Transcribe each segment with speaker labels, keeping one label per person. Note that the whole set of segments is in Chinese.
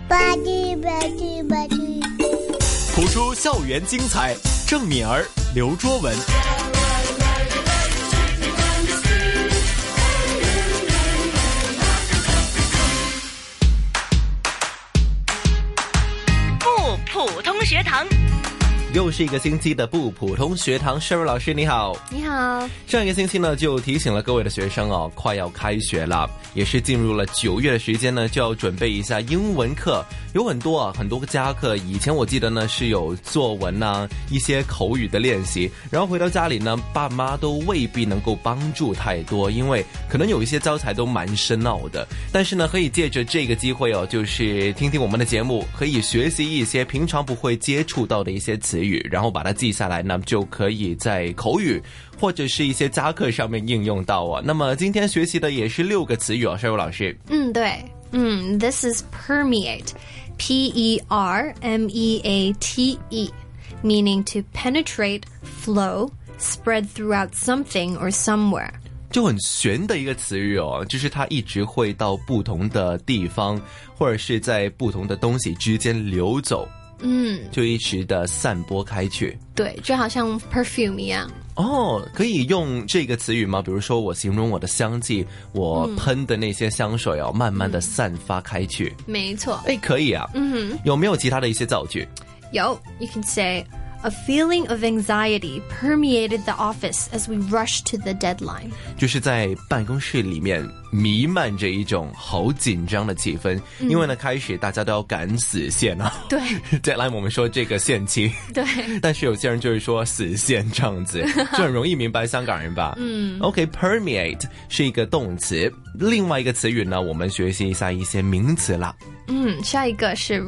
Speaker 1: 吧唧吧唧吧唧，
Speaker 2: 谱出校园精彩，郑敏儿、刘卓文。
Speaker 3: 不普通学堂。
Speaker 2: 又是一个星期的不普通学堂，Sherry 老师你好。
Speaker 4: 你好。
Speaker 2: 上一个星期呢，就提醒了各位的学生哦，快要开学了，也是进入了9月的时间呢，就要准备一下英文课。有很多个加课，以前我记得呢是有作文啊，一些口语的练习，然后回到家里呢，爸妈都未必能够帮助太多，因为可能有一些教材都蛮深奥的。但是呢，可以借着这个机会哦，就是听听我们的节目，可以学习一些平常不会接触到的一些词语，然后把它记下来呢，就可以在口语或者是一些加课上面应用到啊。那么今天学习的也是6个词语哦，Sherry老师。
Speaker 4: 对，this is permeate, P-E-R-M-E-A-T-E, meaning to penetrate, flow, spread throughout something or somewhere.
Speaker 2: 就很玄的一个词语哦，就是它一直会到不同的地方，或者是在不同的东西之间流走。就一直的散播开去。
Speaker 4: 对，就好像 perfume 一样。
Speaker 2: 哦，可以用这个词语吗？比如说我形容我的香气，我喷的那些香水哦，慢慢的散发开去。
Speaker 4: 没错。
Speaker 2: 可以啊。有没有其他的一些造句？
Speaker 4: 有 You can say A feeling of anxiety permeated the office as we rushed to the deadline.
Speaker 2: 就是在办公室里面弥漫着一种好紧张的气氛，因为呢，开始大家都要赶死线啊。
Speaker 4: 对
Speaker 2: ，deadline 我们说这个限期。
Speaker 4: 对，
Speaker 2: 但是有些人就是说死线这样子，就很容易明白香港人吧。OK，permeate 是一个动词，另外一个词语呢，我们学习一下一些名词啦。
Speaker 4: 下一个是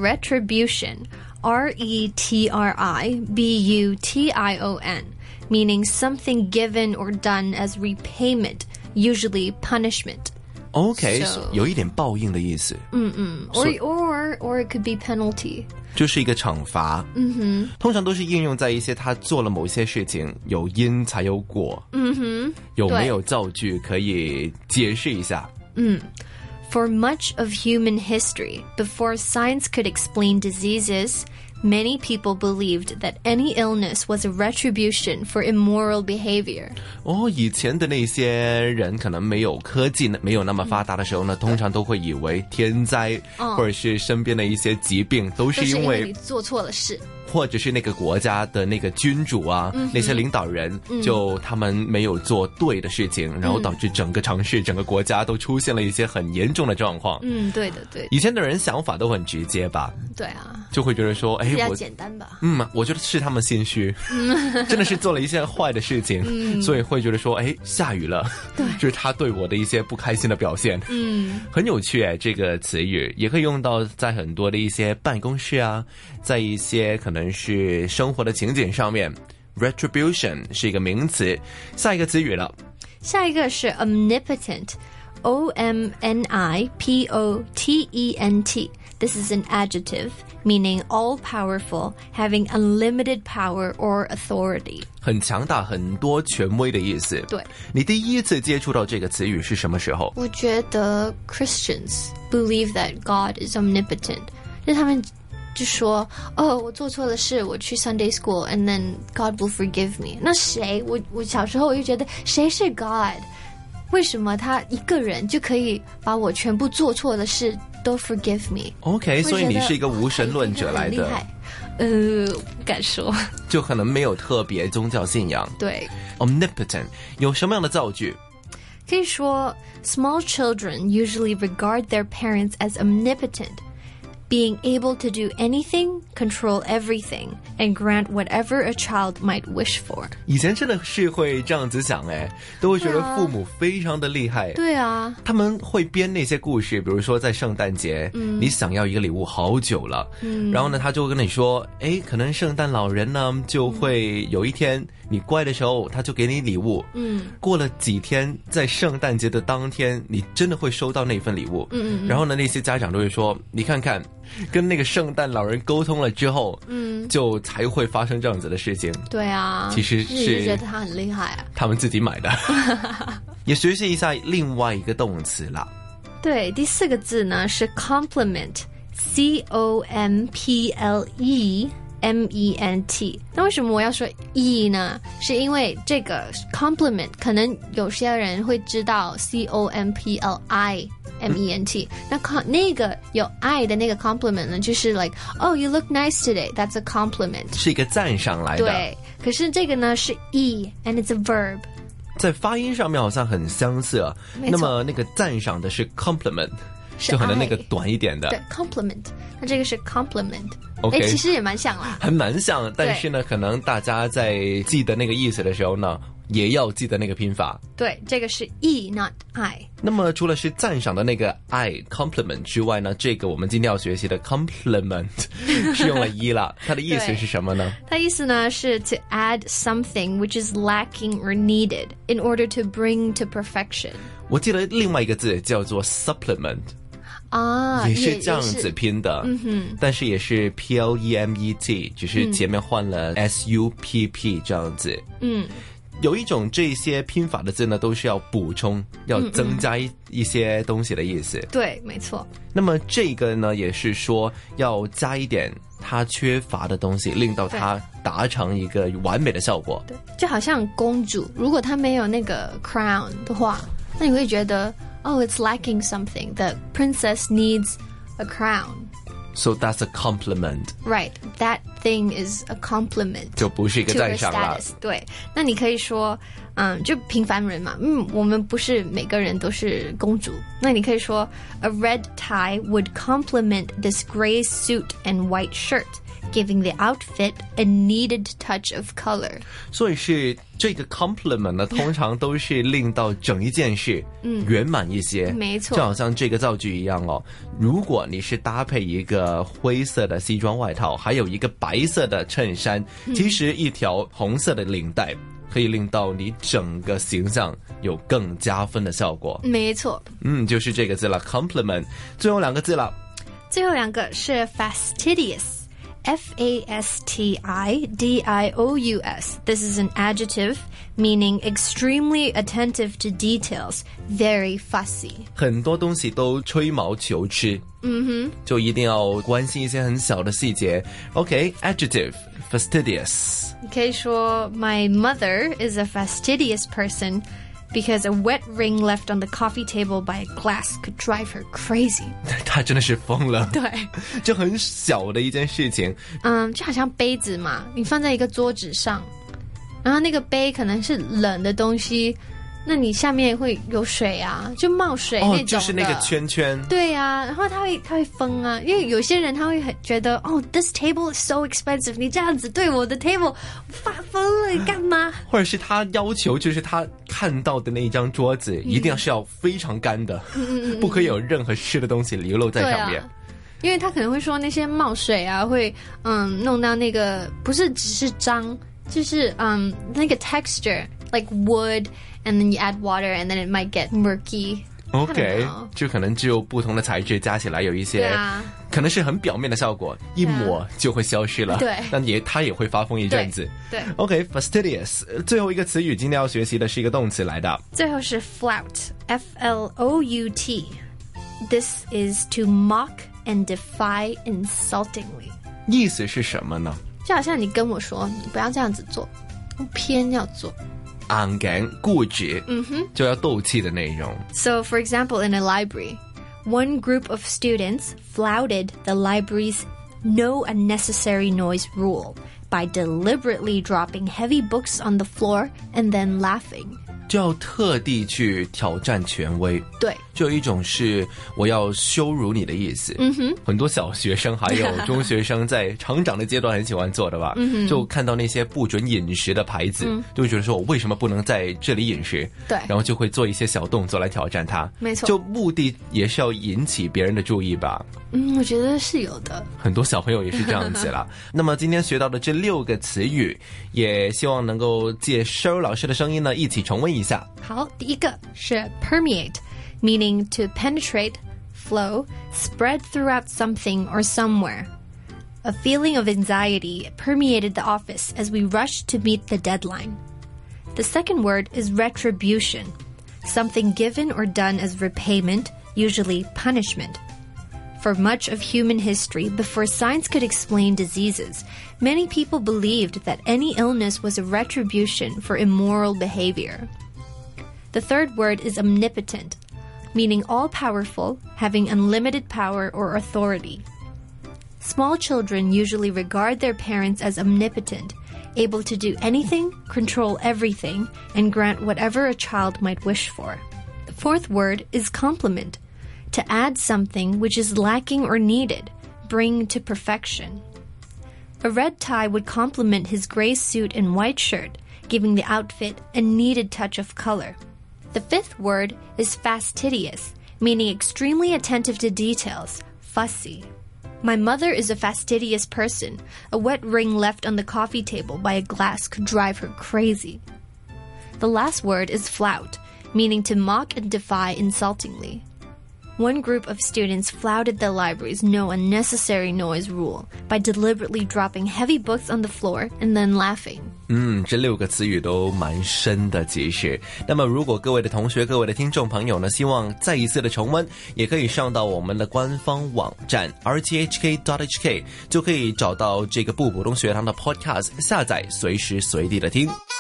Speaker 4: retribution。R-E-T-R-I-B-U-T-I-O-N, meaning something given or done as repayment, usually punishment.
Speaker 2: OK， 有一点报应的意思。
Speaker 4: Or it could be penalty.
Speaker 2: 就是一个惩罚。通常都是应用在一些他做了某些事情，有因才有果。有没有造句可以解释一下
Speaker 4: For much of human history, before science could explain diseases, many people believed that any illness was a retribution for immoral behavior.
Speaker 2: 以前的那些人可能没有科技没有那么发达的时候呢，通常都会以为天灾或者是身边的一些疾病都是因为
Speaker 4: 你做错了事，
Speaker 2: 或者是那个国家的那个君主啊，那些领导人就他们没有做对的事情，然后导致整个城市整个国家都出现了一些很严重的状况。
Speaker 4: 对的对的。
Speaker 2: 以前的人想法都很直接吧。
Speaker 4: 对啊，
Speaker 2: 就会觉得说
Speaker 4: 比较简单吧。
Speaker 2: 我觉得是他们心虚，真的是做了一些坏的事情，所以会觉得说下雨了，对，就是他对我的一些不开心的表现。很有趣这个词语也可以用到在很多的一些办公室啊，在一些可能是生活的情景上面。Retribution 是一个名词。下一个词语了，
Speaker 4: 下一个是 omnipotent。O-M-N-I-P-O-T-E-N-T。This is an adjective meaning all-powerful, having unlimited power or authority.
Speaker 2: 很强大，很多权威的意思。
Speaker 4: 对。
Speaker 2: 你第一次接触到这个词语是什么时候？
Speaker 4: 我觉得 Christians believe that God is omnipotent. 就他们就说我做错了事，我去 Sunday school and then God will forgive me. 那谁？我小时候我就觉得谁是 God？ 为什么他一个人就可以把我全部做错的事都 forgive me？
Speaker 2: OK， 所以你是一个无神论者来的。
Speaker 4: 不敢说，
Speaker 2: 就可能没有特别宗教信仰。
Speaker 4: 对。
Speaker 2: Omnipotent 有什么样的造句？
Speaker 4: 可以说 Small children usually regard their parents as omnipotent.Being able to do anything, control everything, and grant whatever a child might wish for.
Speaker 2: 以前真的是会这样子想都会觉得父母非常的厉害。
Speaker 4: 对啊，
Speaker 2: 他们会编那些故事，比如说在圣诞节，你想要一个礼物好久了，然后呢他就跟你说，可能圣诞老人呢就会有一天你乖的时候他就给你礼物，过了几天在圣诞节的当天你真的会收到那份礼物，然后呢那些家长都会说，你看看跟那个圣诞老人沟通了之后，就才会发生这样子的事情。
Speaker 4: 对啊，
Speaker 2: 其实是
Speaker 4: 觉得他很厉害啊，
Speaker 2: 他们自己买的。也学习一下另外一个动词啦。
Speaker 4: 对，第4个字呢是 compliment complement。那为什么我要说 e 呢？是因为这个 compliment 可能有些人会知道 complement，那个有 I 的那个 compliment 呢，就是 like oh you look nice today， that's a compliment，
Speaker 2: 是一个赞赏来的。
Speaker 4: 对，可是这个呢是 e and it's a verb，
Speaker 2: 在发音上面好像很相似啊。那么那个赞赏的是 compliment， 就可能那个短一点的。
Speaker 4: 对 compliment， 那这个是 compliment。OK， 其实也蛮像啦，
Speaker 2: 还蛮像，但是呢，可能大家在记得那个意思的时候呢，也要记得那个拼法。
Speaker 4: 对，这个是 e not I。
Speaker 2: 那么除了是赞赏的那个 I compliment 之外呢，这个我们今天要学习的 compliment 是用了 e 了，它的意思是什么呢？
Speaker 4: 它意思呢是 to add something which is lacking or needed in order to bring to perfection。
Speaker 2: 我记得另外一个字叫做 supplement。也是这样子拼的，但是也是 P-L-E-M-E-T， 只是前面换了 S-U-P-P 这样子。有一种这些拼法的字呢，都是要补充，要增加一些东西的意思。
Speaker 4: 对，没错。
Speaker 2: 那么这个呢，也是说要加一点它缺乏的东西，令到它达成一个完美的效果。
Speaker 4: 对，就好像公主，如果她没有那个 crown 的话，那你会觉得Oh, it's lacking something. The princess needs a crown.
Speaker 2: So that's a compliment.
Speaker 4: Right. That thing is a compliment.
Speaker 2: 就不是一个赞赏了。
Speaker 4: 对，那你可以说，就平凡人嘛，我们不是每个人都是公主。那你可以说 ，A red tie would complement this gray suit and white shirt.Giving the outfit a needed touch of color.
Speaker 2: 所以是这个 compliment 呢，通常都是令到整一件事圆满一些。
Speaker 4: 没错，
Speaker 2: 就好像这个造句一样哦。如果你是搭配一个灰色的西装外套，还有一个白色的衬衫，其实一条红色的领带可以令到你整个形象有更加分的效果。
Speaker 4: 没错，
Speaker 2: 就是这个字了 ，compliment。最后两个字了，
Speaker 4: 最后两个是 fastidious。F-A-S-T-I-D-I-O-U-S. This is an adjective meaning extremely attentive to details, very fussy.
Speaker 2: 很多东西都吹毛求疵，就一定要关心一些很小的细节。OK, adjective, fastidious.
Speaker 4: 你可以说 My mother is a fastidious person.Because a wet ring left on the coffee table by a glass could drive her crazy.
Speaker 2: 她真的是疯了。
Speaker 4: 对，
Speaker 2: 就很小的一件事情。
Speaker 4: 就好像杯子嘛，你放在一个桌子上，然后那个杯可能是冷的东西，那你下面会有水啊，就冒水那种的。
Speaker 2: 就是那个圈圈。
Speaker 4: 对啊，然后它会疯啊，因为有些人他会很觉得this table is so expensive， 你这样子对我的 table 发疯了，你干嘛？
Speaker 2: 或者是他要求，就是他看到的那一张桌子一定要非常干的，不可以有任何湿的东西流露在上面。
Speaker 4: 因为他可能会说那些冒水啊，会弄到那个不是只是脏，就是那个 texture like wood。And then you add water, and then it might get murky.
Speaker 2: OK， 就可能只有不同的材质加起来有一些，可能是很表面的效果，一抹就会消失了。
Speaker 4: 对，
Speaker 2: 但它也会发疯一阵子。
Speaker 4: 对
Speaker 2: OK, fastidious。最后一个词语今天要学习的是一个动词来的。
Speaker 4: 最后是 flout, F-L-O-U-T. This is to mock and defy insultingly.
Speaker 2: 意思是什么呢？
Speaker 4: 就好像你跟我说，你不要这样子做，我偏要做。
Speaker 2: 硬頸固執，就要鬥氣的內容。
Speaker 4: So, for example, in a library, one group of students flouted the library's no unnecessary noise rule by deliberately dropping heavy books on the floor and then laughing.
Speaker 2: 就要特地去挑战权威。
Speaker 4: 对，
Speaker 2: 就有一种是我要羞辱你的意思。很多小学生还有中学生在成长的阶段很喜欢做的吧。就看到那些不准饮食的牌子，就会觉得说我为什么不能在这里饮食？
Speaker 4: 对，
Speaker 2: 然后就会做一些小动作来挑战它。
Speaker 4: 没错，
Speaker 2: 就目的也是要引起别人的注意吧。
Speaker 4: 我觉得是有的。
Speaker 2: 很多小朋友也是这样子啦。那么今天学到的这6个词语，也希望能够借 Cheryl 老师的声音呢，一起重温一下。
Speaker 4: 好，第一个是 permeate, meaning to penetrate, flow, spread throughout something or somewhere. A feeling of anxiety permeated the office as we rushed to meet the deadline. The second word is retribution, something given or done as repayment, usually punishment. For much of human history, before science could explain diseases, many people believed that any illness was a retribution for immoral behavior. The third word is omnipotent, meaning all-powerful, having unlimited power or authority. Small children usually regard their parents as omnipotent, able to do anything, control everything, and grant whatever a child might wish for. The fourth word is complement, to add something which is lacking or needed, bring to perfection. A red tie would complement his gray suit and white shirt, giving the outfit a needed touch of color. The fifth word is fastidious, meaning extremely attentive to details, fussy. My mother is a fastidious person. A wet ring left on the coffee table by a glass could drive her crazy. The last word is flout, meaning to mock and defy insultingly. One group of students flouted the library's no unnecessary noise rule by deliberately dropping heavy books on the floor and then laughing.
Speaker 2: 这6个词语都蛮深的其实。那么如果各位的同学各位的听众朋友呢希望再一次的重温，也可以上到我们的官方网站 rthk.hk 就可以找到这个不普通学堂的 podcast 下载随时随地的听。